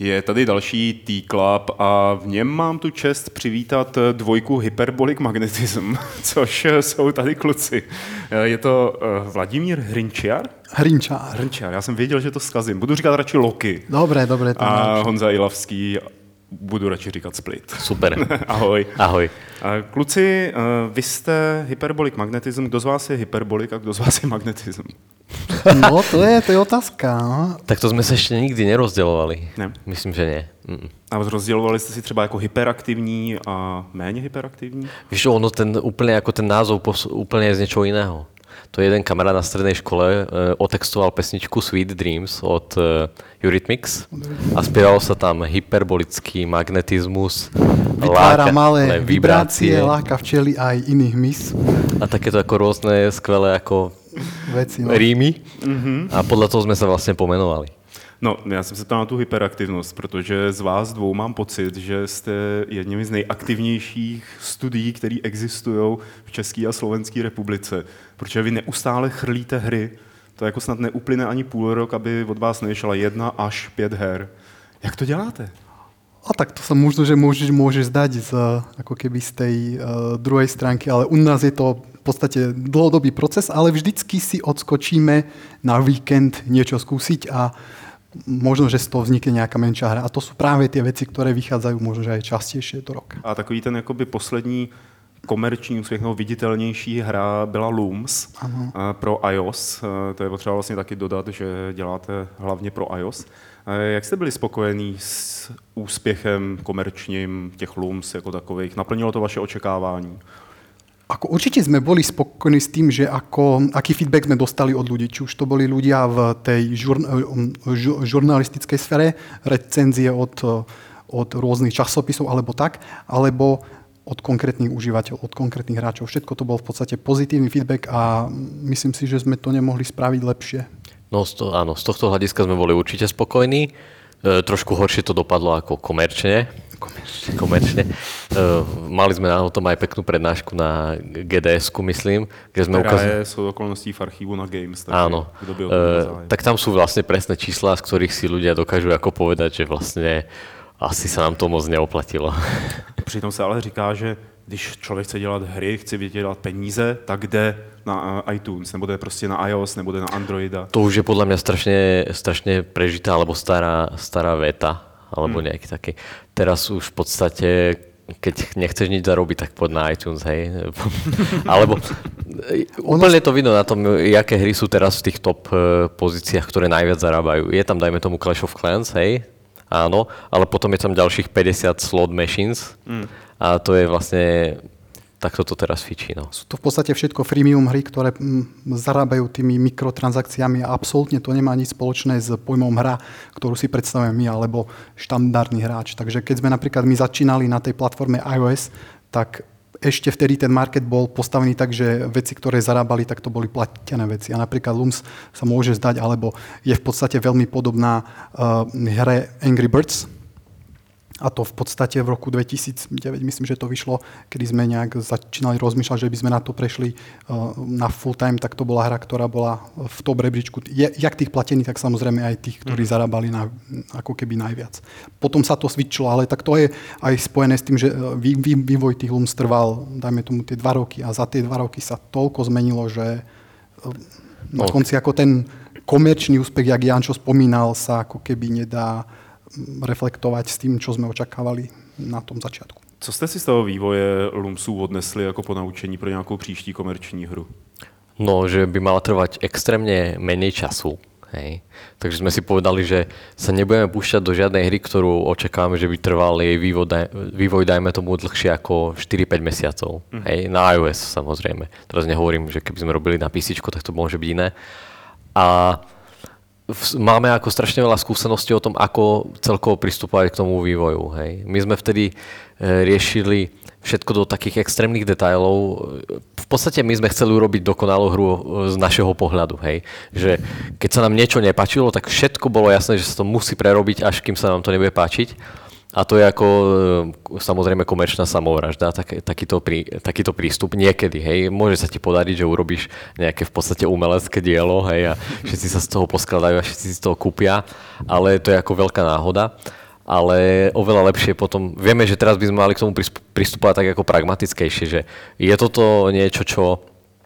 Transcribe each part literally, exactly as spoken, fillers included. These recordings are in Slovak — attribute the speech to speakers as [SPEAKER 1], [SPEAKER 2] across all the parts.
[SPEAKER 1] Je tady další T-Club a v něm mám tu čest přivítat dvojku Hyperbolic Magnetism, což jsou tady kluci. Je to Vladimír Hrinčiar?
[SPEAKER 2] Hrinčár.
[SPEAKER 1] Hrinčiar, já jsem věděl, že to zkazím. Budu říkat radši Loki.
[SPEAKER 2] Dobré, dobré.
[SPEAKER 1] To a radši. Honza Ilavský, budu radši říkat Split.
[SPEAKER 3] Super.
[SPEAKER 1] Ahoj.
[SPEAKER 3] Ahoj.
[SPEAKER 1] Kluci, vy jste Hyperbolic Magnetism. Kdo z vás je Hyperbolik a kdo z vás je Magnetism?
[SPEAKER 2] No, to je, to je otázka. No.
[SPEAKER 3] Tak to jsme se ještě nikdy nerozdělovali.
[SPEAKER 1] Ne.
[SPEAKER 3] Myslím, že ne. Mm.
[SPEAKER 1] A rozdělovali jste si třeba jako hyperaktivní a méně hyperaktivní?
[SPEAKER 3] Víš, ono ten úplně jako ten názov úplně je z něčeho jiného. To jeden kamarád na strednej škole uh, otextoval pesničku Sweet Dreams od uh, Eurythmics a spievalo sa tam hyperbolický magnetizmus,
[SPEAKER 2] vytvára
[SPEAKER 3] láka,
[SPEAKER 2] malé vibrácie, láka včely aj iných mys.
[SPEAKER 3] A takéto ako rôzne skvelé ako
[SPEAKER 2] veci, no.
[SPEAKER 3] rímy. Mm-hmm. A podľa toho sme sa vlastne pomenovali.
[SPEAKER 1] No, já jsem se ptal na tu hyperaktivnost, protože z vás dvou mám pocit, že jste jedním z nejaktivnějších studií, které existují v České a Slovenské republice. Protože vy neustále chrlíte hry. To jako snad neuplyne ani půl rok, aby od vás nevyšla jedna až pět her. Jak to děláte?
[SPEAKER 2] A tak to sa možno, že môže, môže zdať z, ako keby z tej uh, druhej stránky, ale u nás je to v podstate dlhodobý proces, ale vždycky si odskočíme na víkend niečo skúsiť a možno, že z toho vznikne nejaká menšia hra. A to sú práve tie veci, ktoré vychádzajú možno, že aj častejšie do roka.
[SPEAKER 1] A takový ten jakoby poslední komerční úspěch, no, viditelnější hra byla Looms ano. pro iOS. To je potřeba vlastně taky dodat, že děláte hlavně pro iOS. Jak jste byli spokojení s úspěchem komerčním těch Looms jako takových? Naplnilo to vaše očekávání?
[SPEAKER 2] Ako určite sme boli spokojní s tým, že ako, aký feedback sme dostali od ľudí. Či už to boli ľudia v tej žur, žur, žurnalistickej sfére, recenzie od, od rôznych časopisov alebo tak, alebo od konkrétnych užívateľov, od konkrétnych hráčov. Všetko to bol v podstate pozitívny feedback a myslím si, že sme to nemohli spraviť lepšie.
[SPEAKER 3] No to, áno, z tohto hľadiska sme boli určite spokojní. E, trošku horšie to dopadlo ako komerčne.
[SPEAKER 2] Komerčne.
[SPEAKER 3] komerčne. Uh, mali sme na tom aj peknú prednášku na gé dé esku, myslím, kde sme ukázali...
[SPEAKER 1] sú okolností v archívu na Games. Tak
[SPEAKER 3] áno. Uh, tak tam sú vlastne presné čísla, z ktorých si ľudia dokážu ako povedať, že vlastne asi sa nám to moc neoplatilo.
[SPEAKER 1] Přitom se ale říká, že když člověk chce dělat hry, chce vydělat peníze, tak jde na iTunes, nebo jde prostě na iOS, nebo jde na Androida.
[SPEAKER 3] To už je podľa mňa strašne, strašne prežitá, alebo stará, stará veta. Alebo nejaký taký. Teraz už v podstate, keď nechceš nič zarobiť, tak poď na iTunes, hej. Alebo úplne to vidno na tom, jaké hry sú teraz v tých top pozíciách, ktoré najviac zarábajú. Je tam, dajme tomu, Clash of Clans, hej, áno, ale potom je tam ďalších päťdesiat slot machines mm. a to je vlastne... Tak toto teraz fičí, no.
[SPEAKER 2] Sú to v podstate všetko freemium hry, ktoré m, zarábajú tými mikrotransakciami a absolútne to nemá nič spoločné s pojmom hra, ktorú si predstavujeme my, alebo štandardný hráč. Takže keď sme napríklad my začínali na tej platforme iOS, tak ešte vtedy ten market bol postavený tak, že veci, ktoré zarábali, tak to boli platené veci. A napríklad Looms sa môže zdať, alebo je v podstate veľmi podobná uh, hre Angry Birds. A to v podstate v roku dvetisícdeväť, myslím, že to vyšlo, kedy sme nejak začínali rozmýšľať, že by sme na to prešli uh, na full time, tak to bola hra, ktorá bola v top rebríčku. Je, jak tých platených, tak samozrejme aj tých, ktorí mm. zarábali na, ako keby najviac. Potom sa to switchlo, ale tak to je aj spojené s tým, že vý, vý, vývoj tých Looms trval, dajme tomu, tie dva roky a za tie dva roky sa toľko zmenilo, že uh, na konci ako ten komerčný úspech, jak Jančo spomínal, sa ako keby nedá reflektovať s tým, čo sme očakávali na tom začiatku.
[SPEAKER 1] Co jste si z toho vývoje Loomsů odnesli jako ponaučení pro nějakou příští komerční hru?
[SPEAKER 3] No, že by mala trvať extrémne menej času. Hej. Takže sme si povedali, že sa nebudeme púšťať do žiadnej hry, ktorú očakávame, že by trval jej vývoj, daj, vývoj dajme tomu dlhšie ako štyri päť mesiacov. Mm. Hej. Na iOS samozrejme. Teraz nehovorím, že keby sme robili na písičko, tak to môže byť iné. A máme ako strašne veľa skúseností o tom, ako celkovo pristupovať k tomu vývoju. Hej. My sme vtedy riešili všetko do takých extrémnych detailov. V podstate my sme chceli urobiť dokonalú hru z našeho pohľadu. Hej. Že keď sa nám niečo nepáčilo, tak všetko bolo jasné, že sa to musí prerobiť, až kým sa nám to nebude páčiť. A to je ako samozrejme komerčná samovražda, tak, takýto, prí, takýto prístup niekedy, hej. Môže sa ti podariť, že urobíš nejaké v podstate umelecké dielo, hej, a všetci sa z toho poskladajú a všetci si z toho kúpia, ale to je ako veľká náhoda. ale oveľa lepšie potom, vieme, že teraz by sme mali k tomu pristupovať tak ako pragmatickejšie, že je toto niečo, čo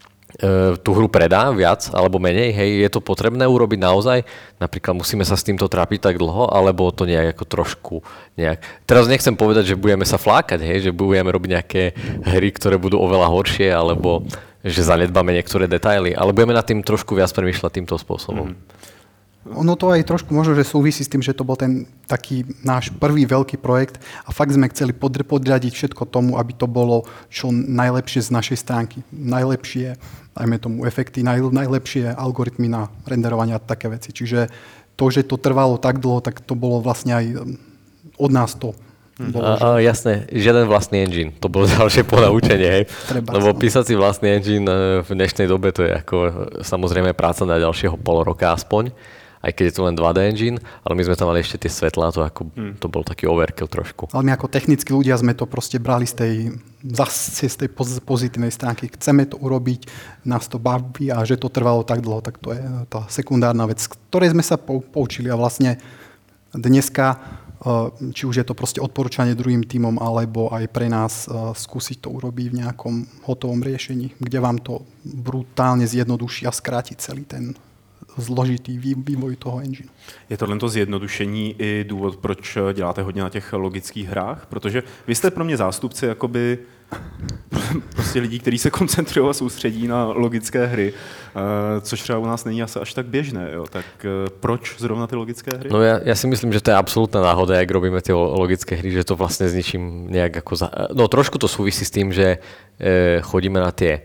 [SPEAKER 3] tú hru predá viac alebo menej, hej, je to potrebné urobiť naozaj? Napríklad musíme sa s týmto trápiť tak dlho, alebo to nejak ako trošku nejak... Teraz nechcem povedať, že budeme sa flákať, hej, že budeme robiť nejaké hry, ktoré budú oveľa horšie, alebo že zanedbáme niektoré detaily, ale budeme nad tým trošku viac premýšľať týmto spôsobom. Mm.
[SPEAKER 2] Ono to aj trošku možno, že súvisí s tým, že to bol ten taký náš prvý veľký projekt a fakt sme chceli podr- podriadiť všetko tomu, aby to bolo čo najlepšie z našej stránky. Najlepšie, dajme tomu, efekty, naj- najlepšie algoritmy na renderovanie a také veci. Čiže to, že to trvalo tak dlho, tak to bolo vlastne aj od nás to. Bolo,
[SPEAKER 3] a, a, jasné, žiaden vlastný engine. To bolo ďalšie ponaučenie, hej.
[SPEAKER 2] Treba,
[SPEAKER 3] Lebo
[SPEAKER 2] no.
[SPEAKER 3] písať si vlastný engine v dnešnej dobe to je ako samozrejme práca na ďalšieho pol roka aspoň. Aj keď je to len dva dé engine, ale my sme tam mali ešte tie svetlá, to, ako, hmm. to bol taký overkill trošku.
[SPEAKER 2] Ale my ako technickí ľudia sme to proste brali z tej, zase z tej pozitívnej stránky. Chceme to urobiť, nás to baví a že to trvalo tak dlho, tak to je tá sekundárna vec, z ktorej sme sa poučili a vlastne dneska, či už je to proste odporúčanie druhým tímom, alebo aj pre nás skúsiť to urobiť v nejakom hotovom riešení, kde vám to brutálne zjednoduší a skráti celý ten zložitý vývoj toho engineu.
[SPEAKER 1] Je tohle zjednodušení i důvod, proč děláte hodně na těch logických hrách? Protože vy jste pro mě zástupci jakoby prostě lidí, kteří se koncentrují a soustředí na logické hry, což třeba u nás není asi až tak běžné. Jo? Tak proč zrovna ty logické hry?
[SPEAKER 3] No ja, ja si myslím, že to je absolútna náhoda, jak robíme tie logické hry, že to vlastne s ničím nejak ako... Za... No trošku to súvisí s tým, že e, chodíme na tie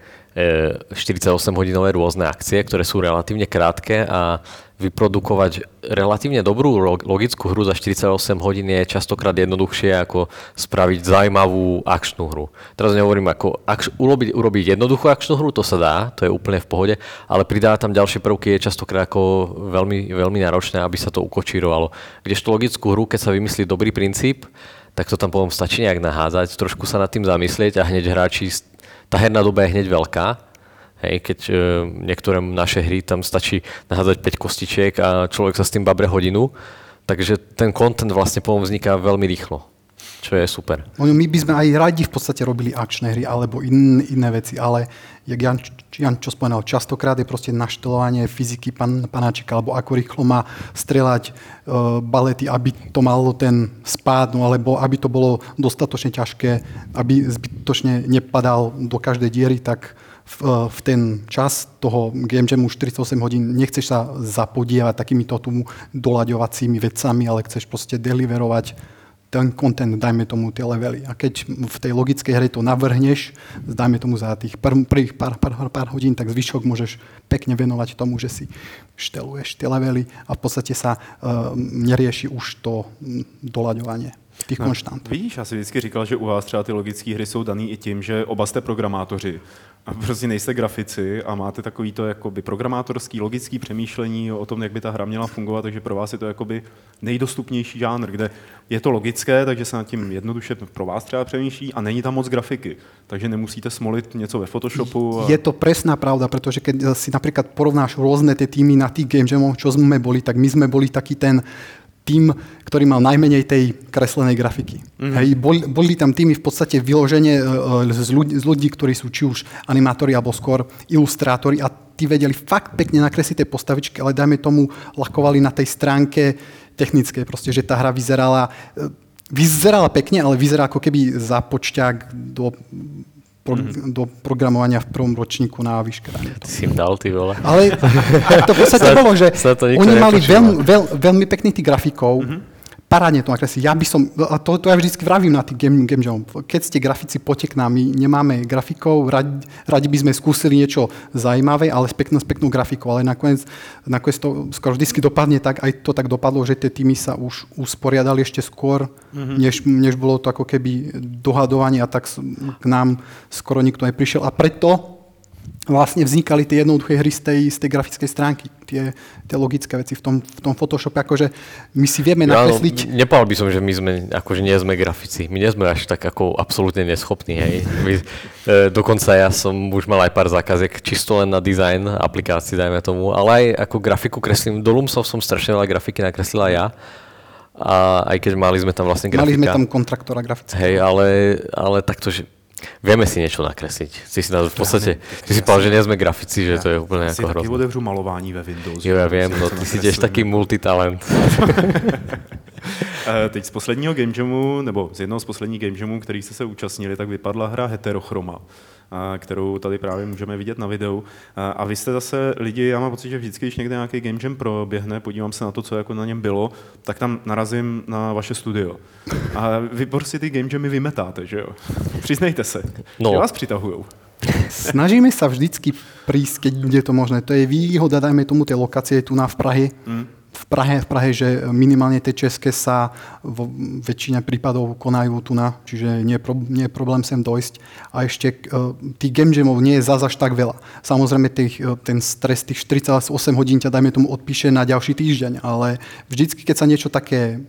[SPEAKER 3] štyridsaťosemhodinové rôzne akcie, ktoré sú relatívne krátke a vyprodukovať relatívne dobrú logickú hru za štyridsaťosem hodín je častokrát jednoduchšie ako spraviť zaujímavú akčnú hru. Teraz nehovorím ako akš, urobiť, urobiť jednoduchú akčnú hru, to sa dá, to je úplne v pohode, ale pridávať tam ďalšie prvky je častokrát ako veľmi, veľmi náročné, aby sa to ukočírovalo. Kdežto logickú hru, keď sa vymyslí dobrý princíp, tak to tam potom stačí nejak nahádzať, trošku sa nad tým zamyslieť a hneď hráči, tá herná doba je hneď veľká. Hej, keď e, niektoré naše hry tam stačí nahádzať päť kostičiek a človek sa s tým babre hodinu, takže ten content vlastne potom vzniká veľmi rýchlo, čo je super.
[SPEAKER 2] My by sme aj radi v podstate robili akčné hry alebo in, iné veci, ale jak Jan, Jan čo spomenal, častokrát je proste naštelovanie fyziky pan, panáčika, alebo ako rýchlo má strieľať e, balety, aby to malo ten spád, no, alebo aby to bolo dostatočne ťažké, aby zbytočne nepadal do každej diery, tak v, v ten čas toho game jamu štyridsaťosem hodín nechceš sa zapodievať takýmito tu doľaďovacími vecami, ale chceš proste deliverovať ten content, dajme tomu tie levely. A keď v tej logickej hre to navrhneš, dajme tomu za tých pr- prvých pár, pár, pár hodín, tak zvyšok môžeš pekne venovať tomu, že si šteluješ tie levely a v podstate sa uh, nerieši už to doľaďovanie těch no, konštant.
[SPEAKER 1] Víš, já si vždycky říkal, že u vás třeba ty logické hry jsou daný i tím, že oba jste programátoři a prostě nejste grafici a máte takový to jakoby programátorský, logický přemýšlení o tom, jak by ta hra měla fungovat, takže pro vás je to jakoby nejdostupnější žánr, kde je to logické, takže se nad tím jednoduše pro vás třeba přemýšlí a není tam moc grafiky, takže nemusíte smolit něco ve Photoshopu. A...
[SPEAKER 2] Je to presná pravda, pretože keď si napríklad porovnáš rôzne tie týmy na tých game jamoch, čo sme boli, tak my sme boli taký ten tým, ktorý mal najmenej tej kreslenej grafiky. Mm-hmm. Hej, boli, boli tam týmy v podstate vyloženie z ľudí, z ľudí, ktorí sú či už animátori alebo skôr ilustrátori a tí vedeli fakt pekne nakresliť tie postavičky, ale dajme tomu lakovali na tej stránke technickej, proste, že tá hra vyzerala, vyzerala pekne, ale vyzerala ako keby započťák do Pro, mm-hmm. do programovania v prvom ročníku na vyškranie.
[SPEAKER 3] Ty si im dal, ty vole.
[SPEAKER 2] Ale to v podstate bolo, že oni mali veľmi, veľ, veľmi pekných tých grafikov, mm-hmm. parádne to nakresli. Ja by som, a to, to ja vždycky vravím na tých game, game jam. Keď ste grafici, poďte k nám, my nemáme grafikov, radi, radi by sme skúsili niečo zaujímavé, ale s peknou, s peknou grafikou, ale nakoniec, nakoniec to skoro vždycky dopadne tak, aj to tak dopadlo, že tie týmy sa už usporiadali ešte skôr, mm-hmm. než, než bolo to ako keby dohadovanie a tak k nám skoro nikto neprišiel a preto vlastne vznikali tie jednoduché hry z tej, z tej grafickej stránky, tie, tie logické veci v tom, v tom Photoshope, akože my si vieme nakresliť...
[SPEAKER 3] Ja, no, nepovedal by som, že my sme, akože nie sme grafici, my nie sme až tak ako absolútne neschopní, hej. My, e, dokonca ja som už mal aj pár zákaziek čisto len na dizajn aplikácií, dajme tomu, ale aj ako grafiku kreslím, do Lumsov som strašne veľa grafiky nakreslila ja A aj keď mali sme tam vlastne grafika.
[SPEAKER 2] Mali sme tam kontraktora grafického.
[SPEAKER 3] Hej, ale, ale takto, že vieme si niečo nakresliť. Ty si v podstate, ty si povedal, že nie sme grafici, že to je úplne ako hrozné.
[SPEAKER 1] Si taky otevřu malování ve Windows.
[SPEAKER 3] Jo, ja viem, no ty si tiež taký multitalent.
[SPEAKER 1] Teď z posledního Game Jamu, nebo z jednoho z posledních Game Jamů, který jste se účastnili, tak vypadla hra Heterochroma, kterou tady právě můžeme vidět na videu. A vy jste zase lidi, já mám pocit, že vždycky, když někde nějaký Game Jam proběhne, podívám se na to, co jako na něm bylo, tak tam narazím na vaše studio. A vy prostě ty Game Jamy vymetáte, že jo? Přiznejte se, no. Že vás přitahujou.
[SPEAKER 2] Snažíme sa vždycky prísť, keď je to možné. To je výhoda, dajme tomu, tej lokácie tu na v Prahe. Mm. V Prahe, v Prahe, že minimálne tie české sa vo väčšine prípadov konajú tu na, čiže nie je, pro, nie je problém sem dojsť. A ešte uh, tých game jamov nie je zase až tak veľa. Samozrejme, tých, ten stres tých štyridsaťosem hodín ťa, dajme tomu, odpíše na ďalší týždeň, ale vždycky, keď sa niečo také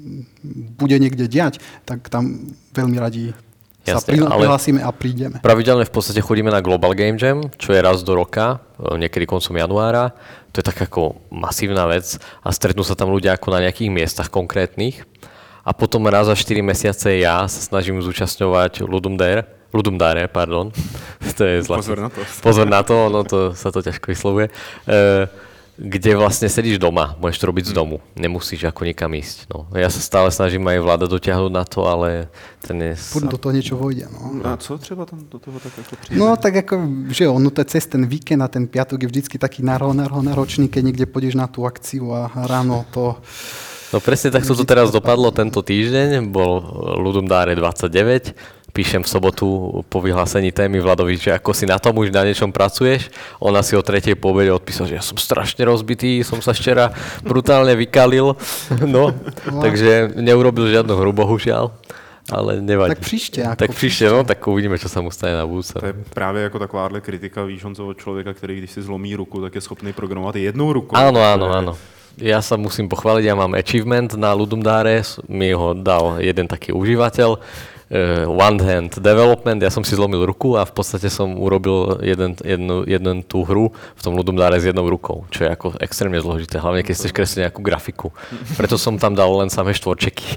[SPEAKER 2] bude niekde diať, tak tam veľmi radi sa prihlásime a prídeme.
[SPEAKER 3] Pravidelne v podstate chodíme na Global Game Jam, čo je raz do roka, niekedy koncom januára. To je tak ako masívna vec a stretnú sa tam ľudia ako na nejakých miestach konkrétnych. A potom raz za štyri mesiace ja sa snažím zúčastňovať Ludum Dare, Ludum Dare, pardon. To je zlatý.
[SPEAKER 1] Pozor na to.
[SPEAKER 3] Pozor na to, no to sa to ťažko vyslovuje. E, kde vlastne sedíš doma, môžeš to robiť z domu, nemusíš ako nikam ísť. No. Ja sa stále snažím aj vláda dotiahnuť na to, ale ten je...
[SPEAKER 2] Furt do toho niečo vojde. No.
[SPEAKER 1] A co třeba tam do toho tak ako príde?
[SPEAKER 2] No tak ako, že ono to cez ten víkend a ten piatok je vždycky taký náročný, keď niekde pôjdeš na tú akciu a ráno to...
[SPEAKER 3] No presne takto to teraz dopadlo tento týždeň, bol Ludum Dare dvadsaťdeväť, píšem v sobotu po vyhlásení témy Vladovi, že ako si na tom už na niečom pracuješ. Ona si o tretej po obede odpísal, že ja som strašne rozbitý, som sa včera brutálne vykalil. No, no. Takže neurobil žiadnu hru, bohužiaľ. Ale nevadí.
[SPEAKER 2] Tak příště. Jako
[SPEAKER 3] tak příště, no, tak uvidíme, čo sa mu stane na budúce.
[SPEAKER 1] To je právě jako takováhle kritika, víš, Honzo, od člověka, který když si zlomí ruku, tak je schopný programovat jednou rukou.
[SPEAKER 3] Áno, áno, áno. Ja sa musím pochváliť, ja mám achievement na Ludum Dare, mi ho dal jeden taký užívateľ, uh, One Hand Development, ja som si zlomil ruku a v podstate som urobil jeden, jednu, jednu tú hru v tom Ludum Dare s jednou rukou, čo je ako extrémne zložité, hlavne keď chceš kresliť nejakú grafiku. Preto som tam dal len samé štvorčeky.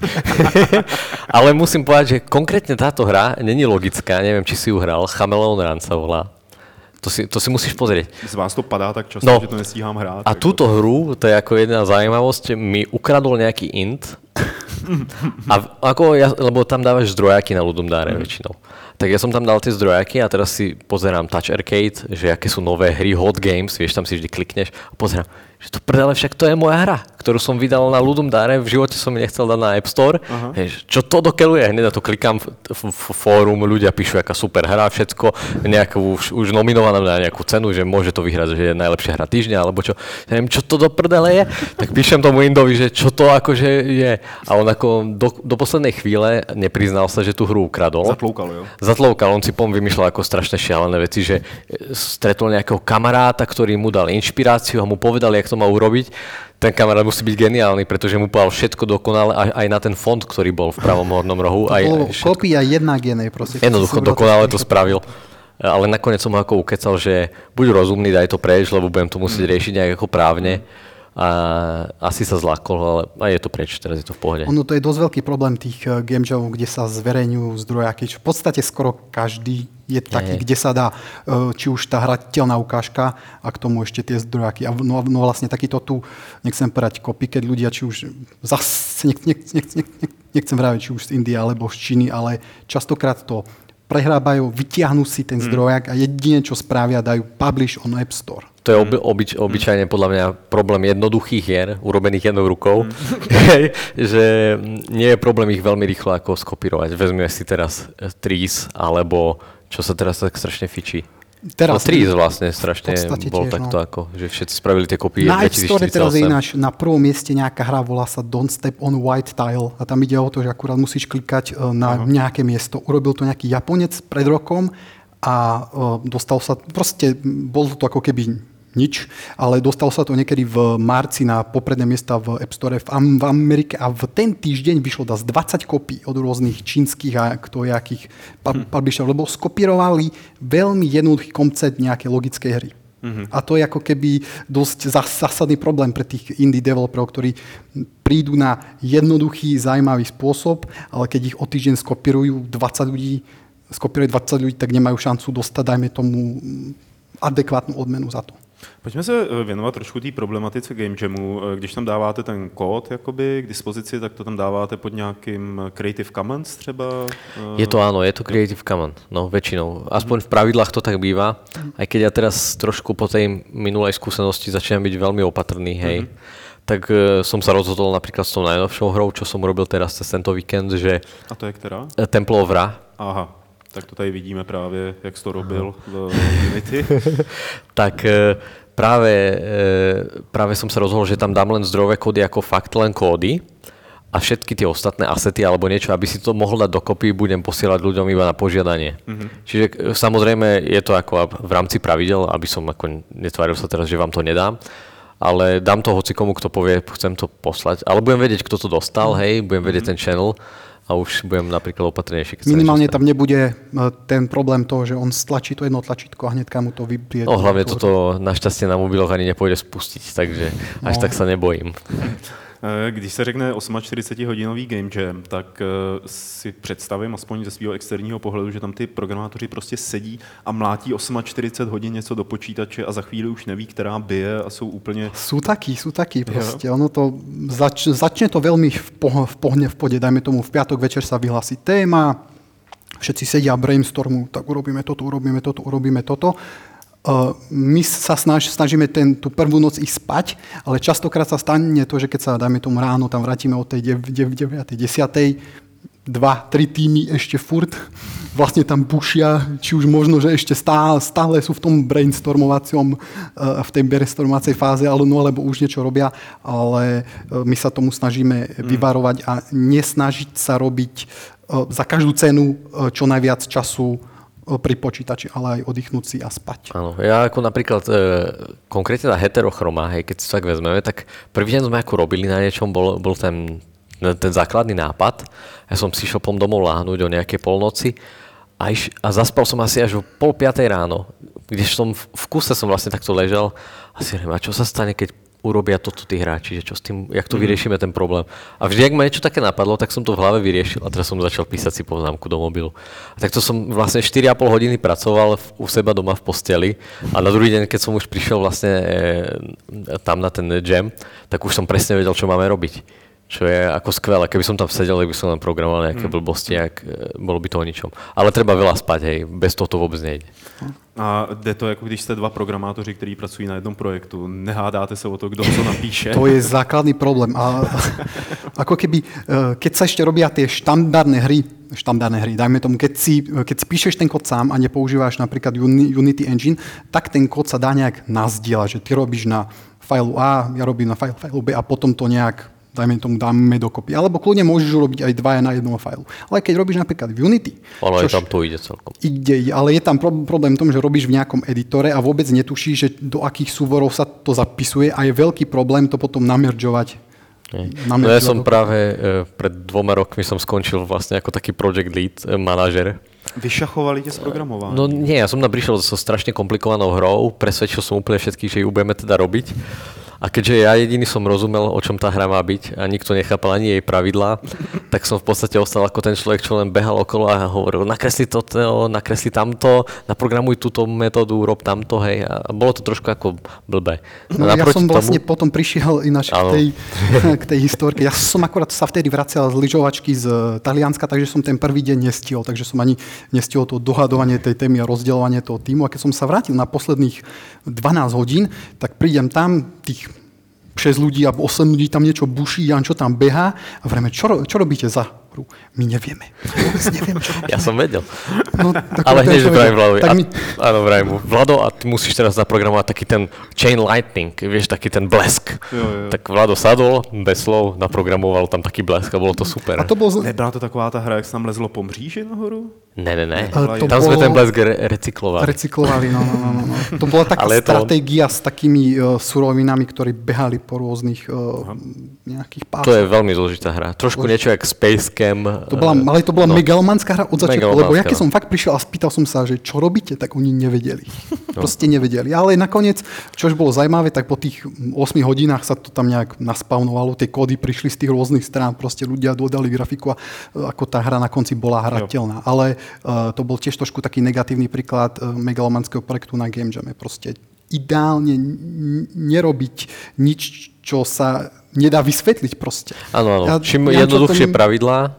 [SPEAKER 3] Ale musím povedať, že konkrétne táto hra není logická, neviem, či si ju hral, Chameleon Run sa volá. To si, to si musíš pozrieť.
[SPEAKER 1] Z vás to padá tak často, no. Že to nestíhám hrát.
[SPEAKER 3] A túto hru, to je ako jedna zaujímavosť, mi ukradol nejaký int. A ako ja, lebo tam dávaš zdrojáky na Ludum Dare mm. väčšinou. Tak ja som tam dal tie zdrojáky a teraz si pozerám Touch Arcade, že aké sú nové hry, Hot Games, vieš, tam si vždy klikneš a pozerám, že to prdele, však to je moja hra, ktorú som vydal na Ludum Dare, v živote som mi nechcel dať na App Store. Hež, čo to dokeluje? Hneď na to klikám v, v, v fórum, ľudia píšu, aká super hra, všetko, nejakú už, už nominovaná na nejakú cenu, že môže to vyhrať, že je najlepšia hra týždňa, alebo čo. Ja neviem, čo to do prdele je? Tak píšem tomu Indovi, že čo to akože je. A on ako do, do poslednej chvíle nepriznal sa, že tú hru ukradol.
[SPEAKER 1] Zatloukal, jo?
[SPEAKER 3] Zatloukal, on si pom vymýšľal ako strašne šialené veci, že stretol nejakého kamaráta, ktorý mu dal inšpiráciu a mu povedal, jak to má urobiť. Ten kamarát musí byť geniálny, pretože mu povedal všetko dokonale, aj na ten fond, ktorý bol v pravom hornom rohu.
[SPEAKER 2] To bolo kopia jedna k jednej, prosím.
[SPEAKER 3] Jednoducho, dokonale to spravil. Ale nakoniec som ho ako ukecal, že buď rozumný, daj to preč, lebo budem to musieť riešiť nejak ako právne. A asi sa zlákol, ale aj je to preč, teraz je to v pohode.
[SPEAKER 2] Ono to je dosť veľký problém tých game jamov, kde sa zverejňujú zdrojáky. V podstate skoro každý je taký, je. Kde sa dá, či už tá hrateľná ukážka a k tomu ešte tie zdrojáky. A no, no vlastne takýto tu, nechcem povedať copycat ľudia, či už zase, nech, nech, nech, nech, nechcem vraviť, či už z Indie alebo z Číny, ale častokrát to prehrábajú, vytiahnu si ten zdrojak a jedine, čo spravia, dajú publish on App Store.
[SPEAKER 3] To je oby, obyč, obyčajne podľa mňa problém jednoduchých hier, urobených jednou rukou, mm. že nie je problém ich veľmi rýchlo ako skopírovať. Vezmeme si teraz Trees, alebo čo sa teraz tak strašne fičí. Teraz, no Trees vlastne strašne bol tiež, takto no. Ako, že všetci spravili tie kopie
[SPEAKER 2] na
[SPEAKER 3] dvetisícštyridsaťosem. Na App Store teraz je ináč na prvom mieste nejaká hra, volá sa Don't Step on White Tile a tam ide o to, že akurát musíš klikať na uh-huh. nejaké miesto. Urobil to nejaký Japonec pred rokom a uh, dostal sa, proste bolo to ako keby nič, ale dostal sa to niekedy v marci na popredné miesta v App Store v, Am- v Amerike a v ten týždeň vyšlo dá z dvadsať kopí od rôznych čínskych a ktojakých publisherov, lebo skopírovali veľmi jednoduchý koncept nejakej logickej hry.
[SPEAKER 2] Mm-hmm. A to je ako keby dosť zásadný problém pre tých indie developerov, ktorí prídu na jednoduchý, zaujímavý spôsob, ale keď ich o týždeň skopírujú dvadsať ľudí, skopíruje dvadsať ľudí, tak nemajú šancu dostať, dajme tomu, adekvátnu odmenu za to.
[SPEAKER 1] Pojďme se věnovat trošku té problematice Game Jamu. Když tam dáváte ten kód jakoby k dispozici, tak to tam dáváte pod nějakým Creative Commons třeba?
[SPEAKER 3] Je to áno, je to Creative Commons, no väčšinou. Aspoň v pravidlách to tak býva. Aj keď ja teraz trošku po tej minulej skúsenosti začínam byť veľmi opatrný, hej. Mm-hmm. Tak uh, som sa rozhodol napríklad s tou najnovšou hrou, čo som robil teraz cez tento víkend, že...
[SPEAKER 1] A to je ktorá?
[SPEAKER 3] Temple of Ra.
[SPEAKER 1] Aha. Tak to tady vidíme právě, jak jsi to robil v Unity.
[SPEAKER 3] Tak práve, práve som sa rozhodol, že tam dám len zdrojové kódy ako fakt len kódy a všetky tie ostatné asety alebo niečo, aby si to mohol dať dokopy, budem posielať ľuďom iba na požiadanie. Mm-hmm. Čiže samozrejme je to ako v rámci pravidel, aby som ako netváril sa teraz, že vám to nedám, ale dám to hocikomu, kto povie, chcem to poslať, ale budem vedieť, kto to dostal, hej, budem vedieť mm-hmm. ten channel. A už budem napríklad opatrnejší.
[SPEAKER 2] Minimálne tam nebude ten problém toho, že on stlačí to jedno tlačítko a hneďka mu to vybrie.
[SPEAKER 3] No hlavne toto našťastie na mobiloch ani nepôjde spustiť, takže no. Až tak sa nebojím.
[SPEAKER 1] Když se řekne čtyřicetioosmhodinový Game Jam, tak si představím, aspoň ze svého externího pohledu, že tam ty programátoři prostě sedí a mlátí čtyřicet osm hodin něco do počítače a za chvíli už neví, která bije a jsou úplně...
[SPEAKER 2] Sú takí, sú takí proste. Ono to zač, začne to veľmi v, poh, v pohne v pode, dajme tomu v piatok večer sa vyhlási téma, všetci sedia brainstormu, tak urobíme toto, urobíme toto, urobíme toto. Uh, my sa snaž, snažíme ten, tú prvú noc ísť spať, ale častokrát sa stane to, že keď sa, dajme tomu ráno, tam vrátime od tej deviatej desiatej dva, tri týmy ešte furt vlastne tam bušia, či už možno, že ešte stále, stále sú v tom brainstormovacom, uh, v tej brainstormovacej fáze, ale no, alebo už niečo robia, ale uh, my sa tomu snažíme mm. vyvarovať a nesnažiť sa robiť uh, za každú cenu uh, čo najviac času pri počítači, ale aj oddychnúť si a spať.
[SPEAKER 3] Áno, ja ako napríklad e, konkrétne na heterochroma, hej, keď si tak vezmeme, tak prvý deň sme ako robili na niečom, bol, bol ten, ten základný nápad. Ja som si šiel pom domov láhnuť o nejaké polnoci a, iš, a zaspal som asi až o pol piatej ráno, kde som v, v kuse som vlastne takto ležal a si hovorím, a čo sa stane, keď urobia toto tí hráči, že čo s tým, jak to vyriešime ten problém. A vždy, ak ma niečo také napadlo, tak som to v hlave vyriešil a teraz som začal písať si poznámku do mobilu. A takto som vlastne štyri a pol hodiny pracoval v, u seba doma v posteli a na druhý deň, keď som už prišiel vlastne e, tam na ten jam, tak už som presne vedel, čo máme robiť. Čo je ako skvelé. Keby som tam sedel, tak by som len programoval nejaké mm. blbosti, ak, bolo by to o ničom. Ale treba veľa spať, hej, bez toho to vôbec nejde.
[SPEAKER 1] A jde to, jako když jste dva programátoři, kteří pracují na jednom projektu. Nehádáte se o to, kdo co napíše?
[SPEAKER 2] To je základný problém. A ako keby, keď sa ešte robia tie štandardné hry, štandardné hry, dajme tomu, keď si, keď si píšeš ten kód sám a nepoužíváš napríklad Unity Engine, tak ten kód sa dá nejak nazdieľať, že ty robíš na failu A, ja robím na file, failu B a potom to nejak dajme tomu, dáme dokopy. Alebo kľudne môžeš urobiť aj dvaja na jednom failu. Ale keď robíš napríklad v Unity...
[SPEAKER 3] Ale aj tam to ide celkom.
[SPEAKER 2] Ide, ale je tam problém v tom, že robíš v nejakom editore a vôbec netušíš, že do akých súvorov sa to zapisuje a je veľký problém to potom nameržovať.
[SPEAKER 3] No ja som práve e, pred dvoma rokmi som skončil vlastne ako taký project lead, e, manažer.
[SPEAKER 1] Vyšachovali tie z programovania?
[SPEAKER 3] No nie, ja som tam prišiel so strašne komplikovanou hrou, presvedčil som úplne všetkých, že ju budeme teda robiť. A keďže ja jediný som rozumel, o čom tá hra má byť a nikto nechápal ani jej pravidlá, tak som v podstate ostal ako ten človek, čo len behal okolo a hovoril, nakresli toto, nakresli tamto, naprogramuj túto metódu, rob tamto, hej. A bolo to trošku ako blbé.
[SPEAKER 2] No ja som vlastne tomu... potom prišiel ináč k tej, k tej historke. Ja som akorát sa vtedy vracial z lyžovačky z Talianska, takže som ten prvý deň nestihol, takže som ani nestihol to dohadovanie tej témy a rozdeľovanie toho týmu. A keď som sa vrátil na posledných dvanásť hodín, tak prídem tam tých šesť ľudí alebo osem ľudí tam niečo buší, Jan, čo tam behá a vrejme, čo, čo robíte za hru? My nevieme. Nevieme, čo robíme.
[SPEAKER 3] Ja som vedel.
[SPEAKER 2] No,
[SPEAKER 3] ale hneď vrajím Vladovi. Mi... Áno, vrajím mu. Vlado, a ty musíš teraz zaprogramovať taký ten chain lightning, vieš, taký ten blesk. Jo, jo. Tak Vlado sadol, bez slov, naprogramoval tam taký blesk a bolo to super.
[SPEAKER 1] A to bolo... Nebyla to taková tá hra, jak sa tam lezlo po mříži nahoru?
[SPEAKER 3] Ne, ne, ne.
[SPEAKER 2] Uh, to
[SPEAKER 3] Tam
[SPEAKER 2] bolo...
[SPEAKER 3] sme ten blesk re- recyklovali.
[SPEAKER 2] Recyklovali, no, no, no, no. To bola taká stratégia to... s takými uh, surovinami, ktorí behali po rôznych uh, nejakých pásoch.
[SPEAKER 3] To je veľmi zložitá hra. Trošku niečo jak Space Camp.
[SPEAKER 2] To bola, ale to bola no. megalomanská hra od začiatku, lebo ja keď
[SPEAKER 3] no.
[SPEAKER 2] som fakt prišiel a spýtal som sa, že čo robíte, tak oni nevedeli. No. Proste nevedeli. Ale nakoniec, čo už bolo zaujímavé, tak po tých ôsmich hodinách sa to tam nejak naspavnovalo, tie kódy prišli z tých rôznych strán, proste ľudia dodali grafiku a ako tá hra na konci bola hrateľná. Ale uh, to bol tiež trošku taký negatívny príklad uh, megalomanského projektu na Game Jame. Proste ideálne n- nerobiť nič, čo sa nedá vysvetliť proste.
[SPEAKER 3] Áno, áno.
[SPEAKER 2] Ja,
[SPEAKER 3] Čím
[SPEAKER 2] ja,
[SPEAKER 3] jednoduchšie
[SPEAKER 2] tom...
[SPEAKER 3] pravidlá e,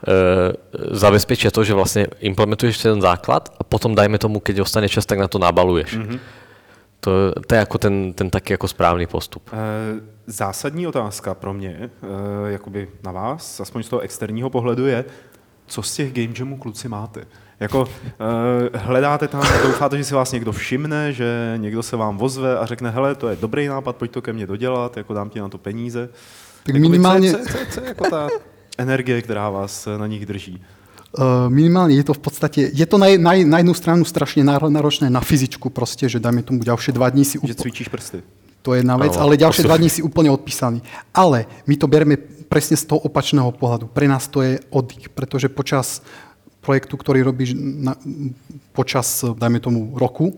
[SPEAKER 3] zabezpečia to, že vlastne implementuješ ten základ a potom dajme tomu, keď ostane čas, tak na to nabaluješ. Mm-hmm. To, to je ako ten, ten taký ako správný postup.
[SPEAKER 1] E, zásadní otázka pro mě, e, jakoby na vás, aspoň z toho externího pohledu je, co z těch Game Jamů kluci máte? Jako uh, hledáte tam, doufáte, že si vás někdo všimne, že někdo se vám ozve a řekne, hele, to je dobrý nápad, pojď to ke mně dodělat, jako dám ti na to peníze.
[SPEAKER 2] Tak minimálně...
[SPEAKER 1] Co, co, co, co je jako ta energie, která vás na nich drží?
[SPEAKER 2] Uh, minimálne je to v podstate, je to na, na, na jednu stranu strašne náročné na fyzičku proste, že dajme tomu ďalšie dva dní si...
[SPEAKER 1] Že cvičíš prsty.
[SPEAKER 2] To je jedna vec, ale, ale ďalšie dva dní si úplne odpísaný. Ale my to bereme presne z toho opačného pohľadu. Pre nás to je oddych, pretože počas projektu, ktorý robíš na, počas, dajme tomu, roku,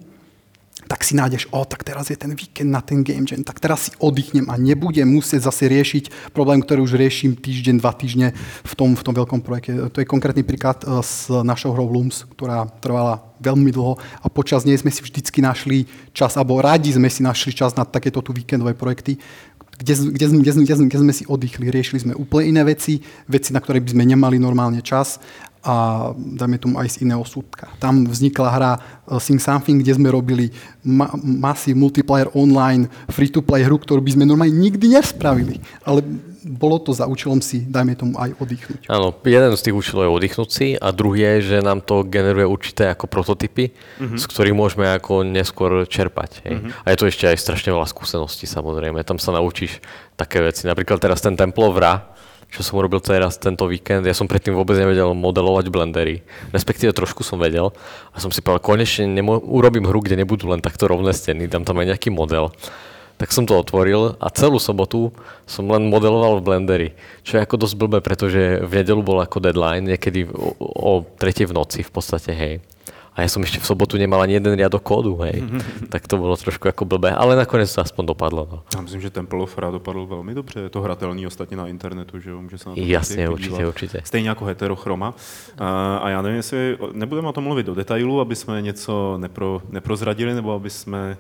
[SPEAKER 2] tak si nájdeš, o, tak teraz je ten víkend na ten Game Jam, tak teraz si oddychnem a nebudem musieť zase riešiť problém, ktorý už riešim týždeň, dva týždne v tom, v tom veľkom projekte. To je konkrétny príklad s našou hrou Looms, ktorá trvala veľmi dlho a počas nej sme si vždycky našli čas, alebo rádi sme si našli čas na takéto tu víkendové projekty, kde, kde, kde, kde, kde sme si oddychli, riešili sme úplne iné veci, veci, na ktoré by sme nemali normálne čas a dajme tomu aj z iného súdka. Tam vznikla hra Sing Something, kde sme robili ma- masy multiplayer online, free-to-play hru, ktorú by sme normálne nikdy nespravili. Ale bolo to za účelom si, dajme tomu, aj oddychnúť.
[SPEAKER 3] Áno, jeden z tých účelov je oddychnúť si a druhý je, že nám to generuje určité ako prototypy, mm-hmm. z ktorých môžeme ako neskôr čerpať. Hej. Mm-hmm. A je to ešte aj strašne veľa skúseností, samozrejme. Tam sa naučíš také veci. Napríklad teraz ten Temple of Ra, čo som urobil teraz tento víkend. Ja som predtým vôbec nevedel modelovať blendery. Respektíve trošku som vedel. A som si povedal, konečne nemo- urobím hru, kde nebudú len takto rovné steny, dám tam aj nejaký model. Tak som to otvoril a celú sobotu som len modeloval v Blenderi. Čo je ako dosť blbé, pretože v nedeľu bol ako deadline, niekedy o, o tretej v noci v podstate, hej. A ja som ešte v sobotu nemal ani jeden riadok kódu, hej. Tak to bolo trošku ako blbé, ale nakoniec to aspoň dopadlo. No.
[SPEAKER 1] Já myslím, že Temple of Ra dopadl velmi dobře. Je to hratelný ostatně na internetu, že jo? Může se na to
[SPEAKER 3] Jasně, určitě, určitě.
[SPEAKER 1] Stejně jako Heterochroma. A, a já nevím, jestli nebudeme o tom mluvit do detailu, aby jsme něco nepro, neprozradili, nebo aby jsme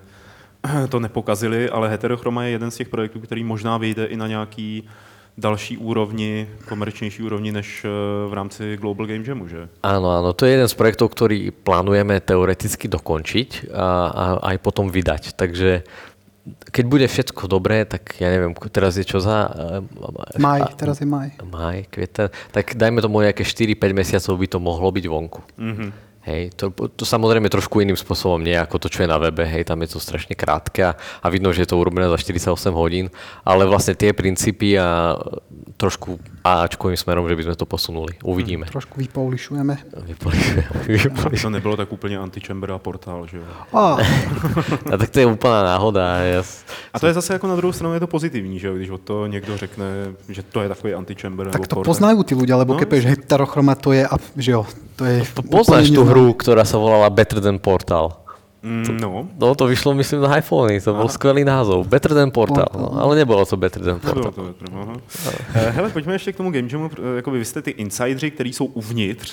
[SPEAKER 1] to nepokazili, ale Heterochroma je jeden z těch projektů, který možná vyjde i na nějaký další úrovni, komerčnější úrovni než v rámci Global Game Jamu, že?
[SPEAKER 3] Áno, áno, to je jeden z projektov, ktorý plánujeme teoreticky dokončiť a, a aj potom vydať. Takže keď bude všetko dobré, tak ja neviem, teraz je čo za...
[SPEAKER 2] Maj, teraz je maj.
[SPEAKER 3] Maj, kvieten, tak dajme tomu nejaké štyri päť mesiacov by to mohlo byť vonku. Mm-hmm. Hej, to, to samozrejme trošku iným spôsobom nie ako to, čo je na webe, hej, tam je to strašne krátke a, a vidno, že je to urobené za štyridsaťosem hodín, ale vlastne tie princípy a trošku áčkovým smerom, že by sme to posunuli. Uvidíme.
[SPEAKER 2] Hmm, trošku vypoulišujeme.
[SPEAKER 3] Vypoulišujeme.
[SPEAKER 1] To nebylo tak úplně Antichamber a Portál, že jo?
[SPEAKER 2] A.
[SPEAKER 3] a tak to je úplná náhoda. Ja...
[SPEAKER 1] A to je zase jako na druhou stranu je to pozitivní, že jo? Když od to někdo řekne, že to je takový Antichamber nebo
[SPEAKER 2] Tak to
[SPEAKER 1] Portál.
[SPEAKER 2] poznajú tí ľudia, lebo
[SPEAKER 1] No,
[SPEAKER 2] keď povieš Heterochroma, to je, že jo, to je...
[SPEAKER 3] To poznáš tú hru, ktorá sa volala Better Than Portal.
[SPEAKER 1] Mm, no.
[SPEAKER 3] No, to vyšlo, myslím, na iPhone, to bol skvelý názov. Better Than Portal, no, ale nebolo to Better Than Portal.
[SPEAKER 1] To, to, aha. Hele, pojďme ještě k tomu Game Jamu, jakoby vy jste ty insidři, kteří jsou uvnitř.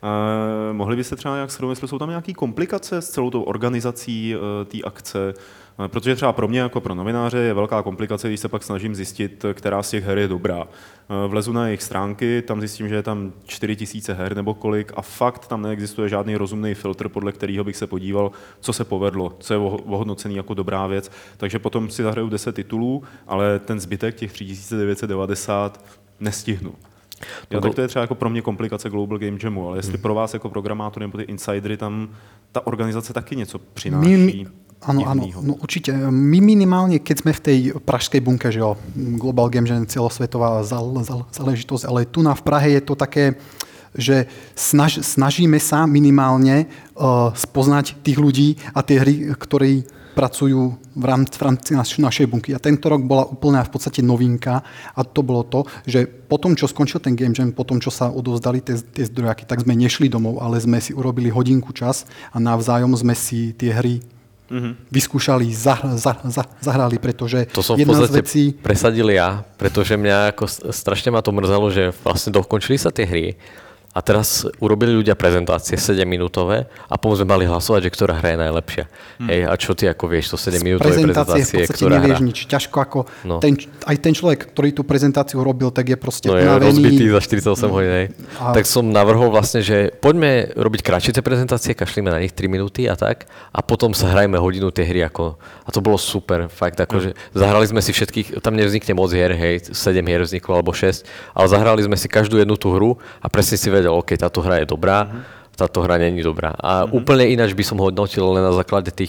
[SPEAKER 1] Uh, mohli byste třeba nějak shrnout, jestli jsou tam nějaké komplikace s celou tou organizací uh, té akce? Uh, protože třeba pro mě, jako pro novináře, je velká komplikace, když se pak snažím zjistit, která z těch her je dobrá. Uh, vlezu na jejich stránky, tam zjistím, že je tam čtyři tisíce her nebo kolik a fakt tam neexistuje žádný rozumný filtr, podle kterého bych se podíval, co se povedlo, co je ohodnocený jako dobrá věc. Takže potom si zahraju deset titulů, ale ten zbytek, těch tři tisíce devět set devadesát, nestihnu. Jo, tak to je třeba jako pro mě komplikace Global Game Jamu, ale jestli pro vás jako programátory nebo ty insidery tam ta organizace taky něco přináší.
[SPEAKER 2] My, áno, áno, no určite. My minimálne, keď sme v tej pražskej bunke, že jo, Global Game Jam celosvetová záležitosť, ale tu na v Prahe je to také, že snaž, snažíme sa minimálne uh, spoznať tých ľudí a tie hry, ktorí pracujú v rámci, v rámci naš, našej bunky. A tento rok bola úplná v podstate novinka a to bolo to, že potom, čo skončil ten Game Jam, potom, čo sa odovzdali tie, tie zdrojaky, tak sme nešli domov, ale sme si urobili hodinku čas a navzájom sme si tie hry mm-hmm. vyskúšali, zahr- zahr- zahr- zahrali, pretože
[SPEAKER 3] to som v
[SPEAKER 2] jedna
[SPEAKER 3] podstate
[SPEAKER 2] z vecí...
[SPEAKER 3] presadil ja, pretože mňa ako strašne ma to mrzelo, že vlastne dokončili sa tie hry. A teraz urobili ľudia prezentácie sedemminútové a potom sme mali hlasovať, že ktorá hra je najlepšia. Hmm. Hej, a čo ty ako vieš, to sedemminútové prezentácie,
[SPEAKER 2] v podstate
[SPEAKER 3] ktorá
[SPEAKER 2] nevieš
[SPEAKER 3] hra?
[SPEAKER 2] nič. Ťažko ako
[SPEAKER 3] No.
[SPEAKER 2] ten, aj ten človek, ktorý tú prezentáciu robil, tak je proste
[SPEAKER 3] no,
[SPEAKER 2] unavený.
[SPEAKER 3] No je rozbitý za štyridsaťosem hodín.
[SPEAKER 2] A...
[SPEAKER 3] Tak som navrhol vlastne, že poďme robiť kratšie tie prezentácie, kašlíme na nich tri minúty a tak a potom sa hrajme hodinu tie hry. Ako, a to bolo super, fakt. Ako, že zahrali sme si všetkých, tam nevznikne moc hier, hej, sedem hier vzniklo alebo šesť, ale zahrali sme si každú jednu tú hru a presne si vedel, OK, táto hra je dobrá, uh-huh. táto hra není dobrá. A uh-huh. úplne ináč by som hodnotil len na základe tých,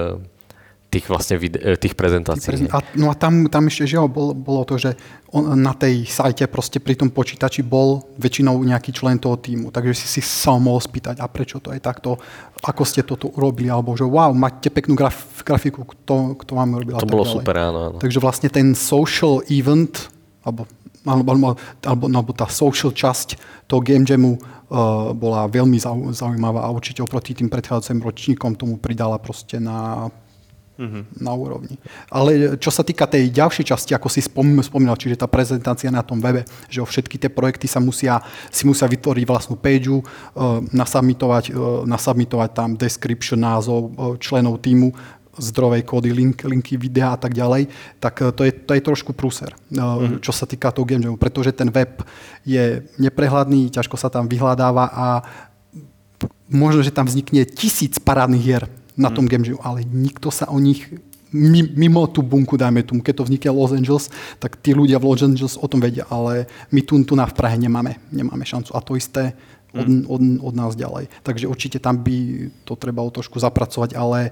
[SPEAKER 3] tých vlastne vide- tých prezentácií.
[SPEAKER 2] Prezent- a, no a tam, tam ešte, že jo, bolo, bolo to, že on, na tej sajte proste pri tom počítači bol väčšinou nejaký člen toho týmu, takže si si sa mohol spýtať, a prečo to je takto, ako ste toto urobili, alebo že wow, máte peknú graf- grafiku, kto, kto vám urobil.
[SPEAKER 3] To bolo ďalej. Super, áno, áno.
[SPEAKER 2] Takže vlastne ten social event, alebo Alebo, alebo, alebo, alebo tá social časť toho Game Jamu uh, bola veľmi zau, zaujímavá a určite oproti tým predchádzajúcim ročníkom tomu pridala proste na, mm-hmm. na úrovni. Ale čo sa týka tej ďalšej časti, ako si spom, spomínal, čiže tá prezentácia na tom webe, že o všetky tie projekty sa musia, si musia vytvoriť vlastnú pageu, uh, nasubmitovať, uh, nasubmitovať tam description, názov uh, členov týmu, zdrovej kódy, link, linky, videa a tak ďalej, tak to je, to je trošku prúser, mm-hmm. čo sa týka toho Game Jamu, pretože ten web je neprehľadný, ťažko sa tam vyhľadáva a možno, že tam vznikne tisíc parádnych hier na tom mm-hmm. Game Jamu, ale nikto sa o nich mimo tú bunku, dajme tomu, keď to vznikne Los Angeles, tak tí ľudia v Los Angeles o tom vedia, ale my tu, tu na v Prahe nemáme, nemáme šancu a to isté Od, od, od nás ďalej. Takže určite tam by to trebalo trošku zapracovať, ale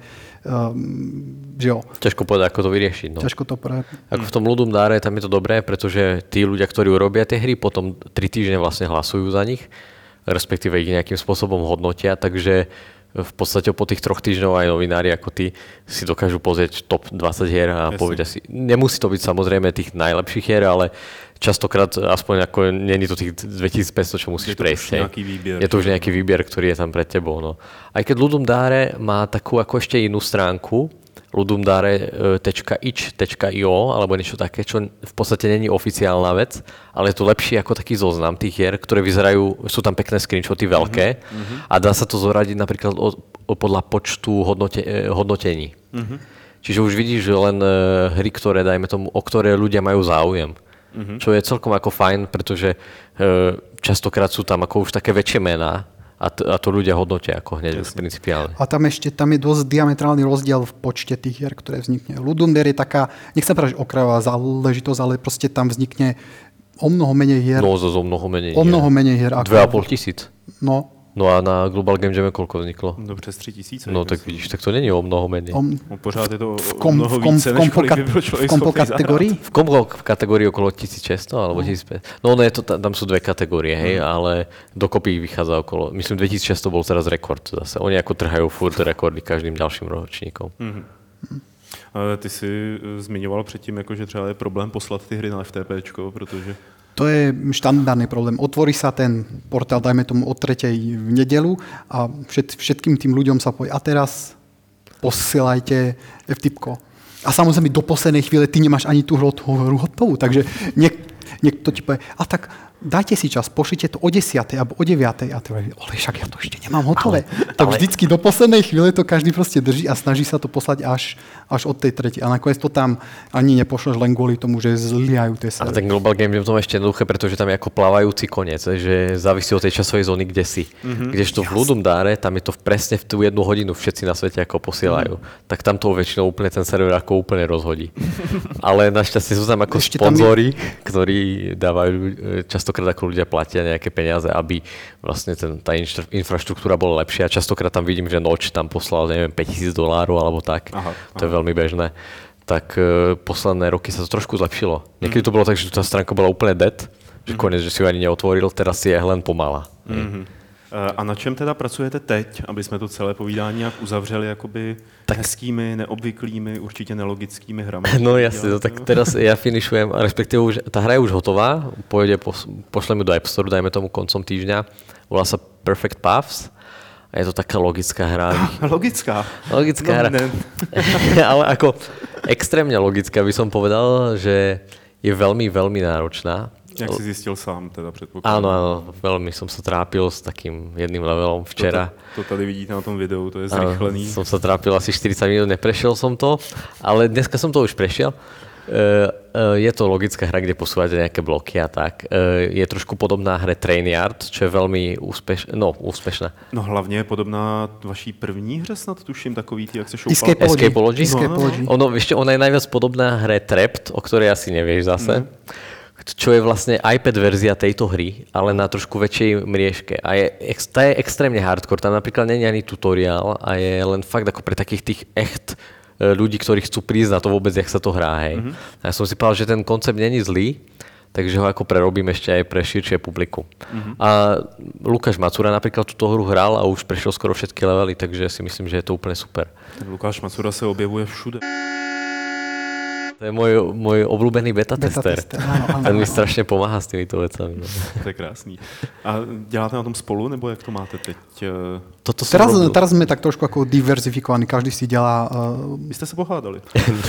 [SPEAKER 2] um, že jo.
[SPEAKER 3] Ťažko povedať, ako to vyriešiť. No.
[SPEAKER 2] Ťažko to pre...
[SPEAKER 3] Ako v tom Ludum Dare, tam je to dobré, pretože tí ľudia, ktorí urobia tie hry, potom tri týždne vlastne hlasujú za nich, respektíve ich nejakým spôsobom hodnotia, takže v podstate po tých troch týždňov aj novinári ako ty si dokážu pozrieť top dvadsať hier a povedia si, nemusí to byť samozrejme tých najlepších hier, ale častokrát aspoň ako není to tých dvetisícpäťsto, čo musíš
[SPEAKER 1] je
[SPEAKER 3] prejsť.
[SPEAKER 1] Výbier,
[SPEAKER 3] je to už nejaký výber, ktorý je tam pred tebou. No. Aj keď Ludum Dare má takú ako ešte inú stránku, ludumdare bodka itch bodka io alebo niečo také, čo v podstate není oficiálna vec, ale je to lepšie ako taký zoznam tých hier, ktoré vyzerajú, sú tam pekné screenshoty veľké uh-huh. a dá sa to zoradiť napríklad o, o, podľa počtu hodnote, hodnotení. Uh-huh. Čiže už vidíš, že len uh, hry, ktoré, dajme tomu, o ktoré ľudia majú záujem. Uh-huh. Čo je celkom ako fajn, pretože uh, častokrát sú tam ako už také väčšie mená, A to, a to ľudia hodnotia ako hneď principiálne.
[SPEAKER 2] A tam ešte tam je dosť diametrálny rozdiel v počte tých hier, ktoré vznikne. Ludum Dare je taká, nechcem povedať, okrajová záležitosť, ale proste tam vznikne o mnoho menej hier.
[SPEAKER 3] No, zo mnoho menej
[SPEAKER 2] O mnoho menej hier. Ako...
[SPEAKER 3] Dve a pol tisíc.
[SPEAKER 2] No.
[SPEAKER 3] No a na Global Game Jam koľko vzniklo?
[SPEAKER 1] No přes tři tisíce.
[SPEAKER 3] No tak vidíš, tak to není o mnoho menej.
[SPEAKER 2] Om...
[SPEAKER 1] No, pořád je to
[SPEAKER 2] v
[SPEAKER 1] o
[SPEAKER 2] kom,
[SPEAKER 1] mnoho
[SPEAKER 2] v kom,
[SPEAKER 1] více,
[SPEAKER 2] v
[SPEAKER 1] než
[SPEAKER 2] kompo,
[SPEAKER 1] kolik by byl člověk
[SPEAKER 2] v kompo
[SPEAKER 1] schopný
[SPEAKER 2] kategórii?
[SPEAKER 3] V kompo v kategórii okolo tisícšesťsto alebo no. tisícpäťsto. No, no je to, tam sú dve kategórie, hej, mm. ale dokopy ich vychádza okolo, myslím dvetisícšesťsto bol teraz rekord zase. Oni ako trhajú furt rekordy každým ďalším ročníkom. Mm.
[SPEAKER 1] Mm. Ty si zmiňoval předtím, jako, že třeba je problém poslat ty hry na ef té péčko, protože...
[SPEAKER 2] To je štandardný problém. Otvorí sa ten portál, dajme tomu od tretej v nedelu a všet, všetkým tým ľuďom sa povie, a teraz posielajte ef té pé ko. A samozrejme do poslednej chvíle ty nemáš ani tú hru hotovú, takže niek, niekto ti povie, a tak dajte si čas, pošlite to o desiatej alebo o deviatej a ty hovoríš, ale však ja to ešte nemám hotové. Ale, tak ale... vždycky do poslednej chvíle to každý proste drží a snaží sa to poslať až, až od tej tretej. A nakoniec to tam ani nepošleš len kvôli tomu, že zlyhajú tie servery.
[SPEAKER 3] Ale ten Global Game je v tom ešte jednoduché, pretože tam je ako plávajúci koniec, že závisí od tej časovej zóny, kde si. Mm-hmm. Kdežto v Ludum Dare, tam je to presne v tú jednu hodinu všetci na svete ako posielajú. Mm. Tak tam to väčšinou úplne ten server ako úplne rozhodí. Ale našťastie sú tam ako ešte sponzori, tam je... ktorí dávajú často častokrát ako ľudia platia nejaké peniaze, aby vlastne ten, tá infraštruktúra bola lepšia. Častokrát tam vidím, že Noč tam poslal, neviem, päťtisíc dolárov alebo tak. Aha, aha. To je veľmi bežné. Tak uh, posledné roky sa to trošku zlepšilo. Niekedy to bolo tak, že tá stránka bola úplne dead, že konec, že si ju ani neotvoril, teraz si je len pomalá.
[SPEAKER 1] Mm-hmm. A na čem teda pracujete teď, aby jsme to celé povídání nějak uzavřeli jakoby tak hezkými, neobvyklými, určitě nelogickými hrami?
[SPEAKER 3] No jasne, no, tak teraz ja finišujem, respektíve už, tá hra je už hotová, pôjde, pošlem ju do App Store, dajme tomu koncom týždňa, volá sa Perfect Paths a je to taká logická hra.
[SPEAKER 1] Logická?
[SPEAKER 3] Logická
[SPEAKER 1] no,
[SPEAKER 3] hra. Ale ako extrémne logická by som povedal, že je veľmi, veľmi náročná.
[SPEAKER 1] Jak si zistil sám, teda předpokládám.
[SPEAKER 3] Áno, áno, veľmi som sa trápil s takým jedným levelom včera.
[SPEAKER 1] To, to tady vidíte na tom videu, to je zrychlený.
[SPEAKER 3] Áno, som sa trápil asi štyridsať minút, neprešiel som to, ale dneska som to už prešiel. Uh, uh, je to logická hra, kde posúvate nejaké bloky a tak. Uh, je trošku podobná hre Trainyard, čo je veľmi úspeš- no, úspešná.
[SPEAKER 1] No hlavně je podobná vaší první hře, snad tuším, takový ty, jak se šoupal.
[SPEAKER 2] Escapology.
[SPEAKER 3] Escapology?
[SPEAKER 2] Escapology.
[SPEAKER 3] No, no. Ono, ešte, ona je najviac podobná hre Trapped, o ktorej asi nevieš zase. Mm. Čo je vlastne iPad verzia tejto hry, ale na trošku väčšej mriežke. A je, tá je extrémne hardcore. Tam napríklad nie je ani tutoriál a je len fakt ako pre takých tých echt ľudí, ktorí chcú prísť na to vôbec, jak sa to hrá. Hej. Mm-hmm. A ja som si povedal, že ten koncept není zlý, takže ho ako prerobím ešte aj pre širšie publikum. Mm-hmm. A Lukáš Macura napríklad túto hru hral a už prešiel skoro všetky levely, takže si myslím, že je to úplne super.
[SPEAKER 1] Lukáš Macura sa objevuje všude.
[SPEAKER 3] To je môj, môj obľúbený beta, beta tester.
[SPEAKER 2] tester áno, áno,
[SPEAKER 3] Ten mi strašne pomáha s týmito vecami. No.
[SPEAKER 1] To je krásný. A děláte na tom spolu, nebo jak to máte teď?
[SPEAKER 2] Toto teraz, teraz sme tak trošku ako diverzifikovaní, každý si dělá... Uh...
[SPEAKER 1] Vy ste sa pohádali.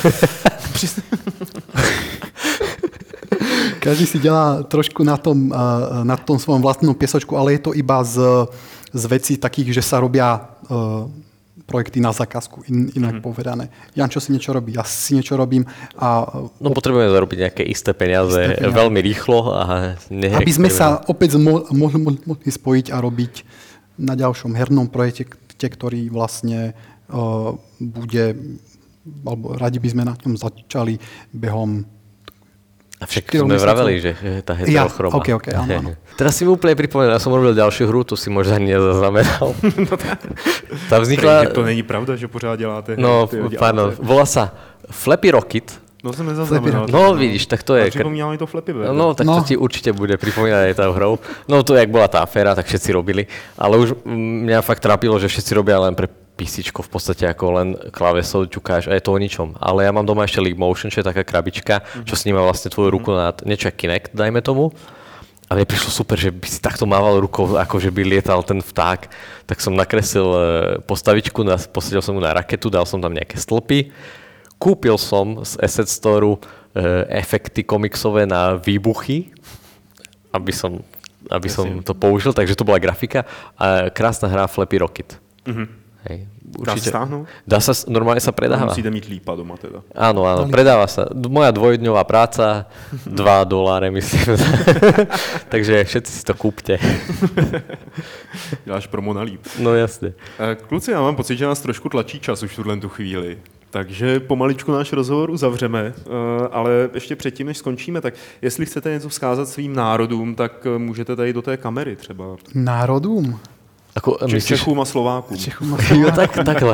[SPEAKER 2] Každý si dělá trošku na tom, uh, na tom svojom vlastnom piesočku, ale je to iba z, z vecí takých, že sa robia... Uh, projekty na zákazku, in, inak mm-hmm. povedané. Jančo si niečo robí, ja si niečo robím. A
[SPEAKER 3] no potrebujeme zarobiť nejaké isté peniaze, isté peniaze. Veľmi rýchlo. A
[SPEAKER 2] aby sme sa opäť mo- mohli mo- mo- spojiť a robiť na ďalšom hernom projekte, ktorý vlastne uh, bude, alebo radi by sme na ňom začali behom.
[SPEAKER 3] A však sme vraveli, že tá heterochroma.
[SPEAKER 2] Ja, okay, okay, áno, áno.
[SPEAKER 3] Teraz si mi úplne pripomenul, ja som robil ďalšiu hru, tu si možno ani nezaznamenal.
[SPEAKER 1] No tak.
[SPEAKER 3] Tá vznikla...
[SPEAKER 1] To není pravda, že pořád děláte.
[SPEAKER 3] No, pardon, volá sa Flappy Rocket.
[SPEAKER 1] No som nezaznamenal.
[SPEAKER 3] No vidíš, tak to je...
[SPEAKER 1] A pripomínalo mi to Flappy Bird.
[SPEAKER 3] No, tak to no. ti určite bude pripomínať aj tá hrou. No to, jak bola tá aféra, tak všetci robili. Ale už mňa fakt trápilo, že všetci robia len pre písičko, v podstate ako len klávesou ťukáš a je to o ničom. Ale ja mám doma ešte League Motion, čo je taká krabička, mm-hmm. čo sníma vlastne tvoju ruku na niečo Kinect, dajme tomu. A mne prišlo super, že by si takto mával rukou, ako že by lietal ten vták. Tak som nakreslil postavičku, posadil som mu na raketu, dal som tam nejaké stĺpy. Kúpil som z Asset Storeu efekty komiksové na výbuchy, aby som, aby som to použil, takže to bola grafika. A krásna hra Flappy Rocket. Mm-hmm. Hej,
[SPEAKER 1] dá sa stáhnuť?
[SPEAKER 3] Dá sa, normálne sa predáva.
[SPEAKER 1] Musíte mít lípa doma teda.
[SPEAKER 3] Áno, áno, predáva sa. Moja dvojdňová práca, dva doláre myslím. Takže všetci si to kúpte.
[SPEAKER 1] Děláš promo na líp.
[SPEAKER 3] No jasne.
[SPEAKER 1] Kluci, já mám pocit, že nás trošku tlačí čas už v tuhle tu chvíli. Takže pomaličku náš rozhovor uzavřeme, ale ještě předtím, než skončíme, tak jestli chcete něco vzkázat svým národům, tak můžete tady do té kamery třeba.
[SPEAKER 2] Národům?
[SPEAKER 3] Ako,
[SPEAKER 1] myslíš... Čechům a Slovákům.
[SPEAKER 2] Čechům a Slovákům.
[SPEAKER 3] tak, takhle.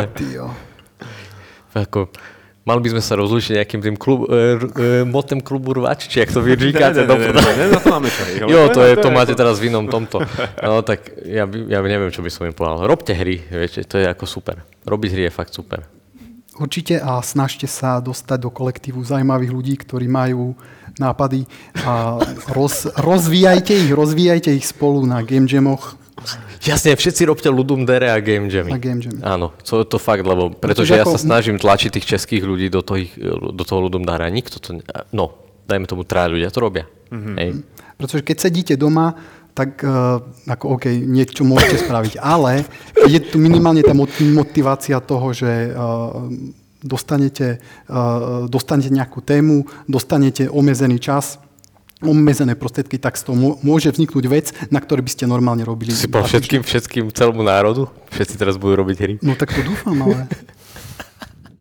[SPEAKER 3] Ako, mali by sme sa rozlúčiť nejakým tým klub, e, e, motem klubu rváč, či jak to vy říkáte.
[SPEAKER 1] Ne, ne, ne, ne, ne, na to máme čaj.
[SPEAKER 3] Jo, to, je, to máte teraz v inom tomto. No tak ja, by, ja neviem, čo by som im povedal. Robte hry, viete, to je ako super. Robiť hry je fakt super.
[SPEAKER 2] Určite a snažte sa dostať do kolektívu zaujímavých ľudí, ktorí majú nápady a roz, rozvíjajte ich, rozvíjajte ich spolu na Game Jamoch.
[SPEAKER 3] Jasne, všetci robte Ludum Dare a Game Jammy.
[SPEAKER 2] A Game Jammy.
[SPEAKER 3] Áno, to je to fakt, lebo pretože ja sa snažím tlačiť tých českých ľudí do toho, do toho Ludum Dare a nikto to... No, dajme tomu, traja ľudia to robia. Mm-hmm. Hej.
[SPEAKER 2] Pretože keď sedíte doma, tak uh, ako OK, niečo môžete spraviť, ale je tu minimálne tá motivácia toho, že uh, dostanete, uh, dostanete nejakú tému, dostanete obmedzený čas, obmedzené prostriedky, tak z toho môže vzniknúť vec, na ktorej by ste normálne robili.
[SPEAKER 3] Si povedal všetkým, všetkým celému národu? Všetci teraz budú robiť hry?
[SPEAKER 2] No tak to dúfam, ale...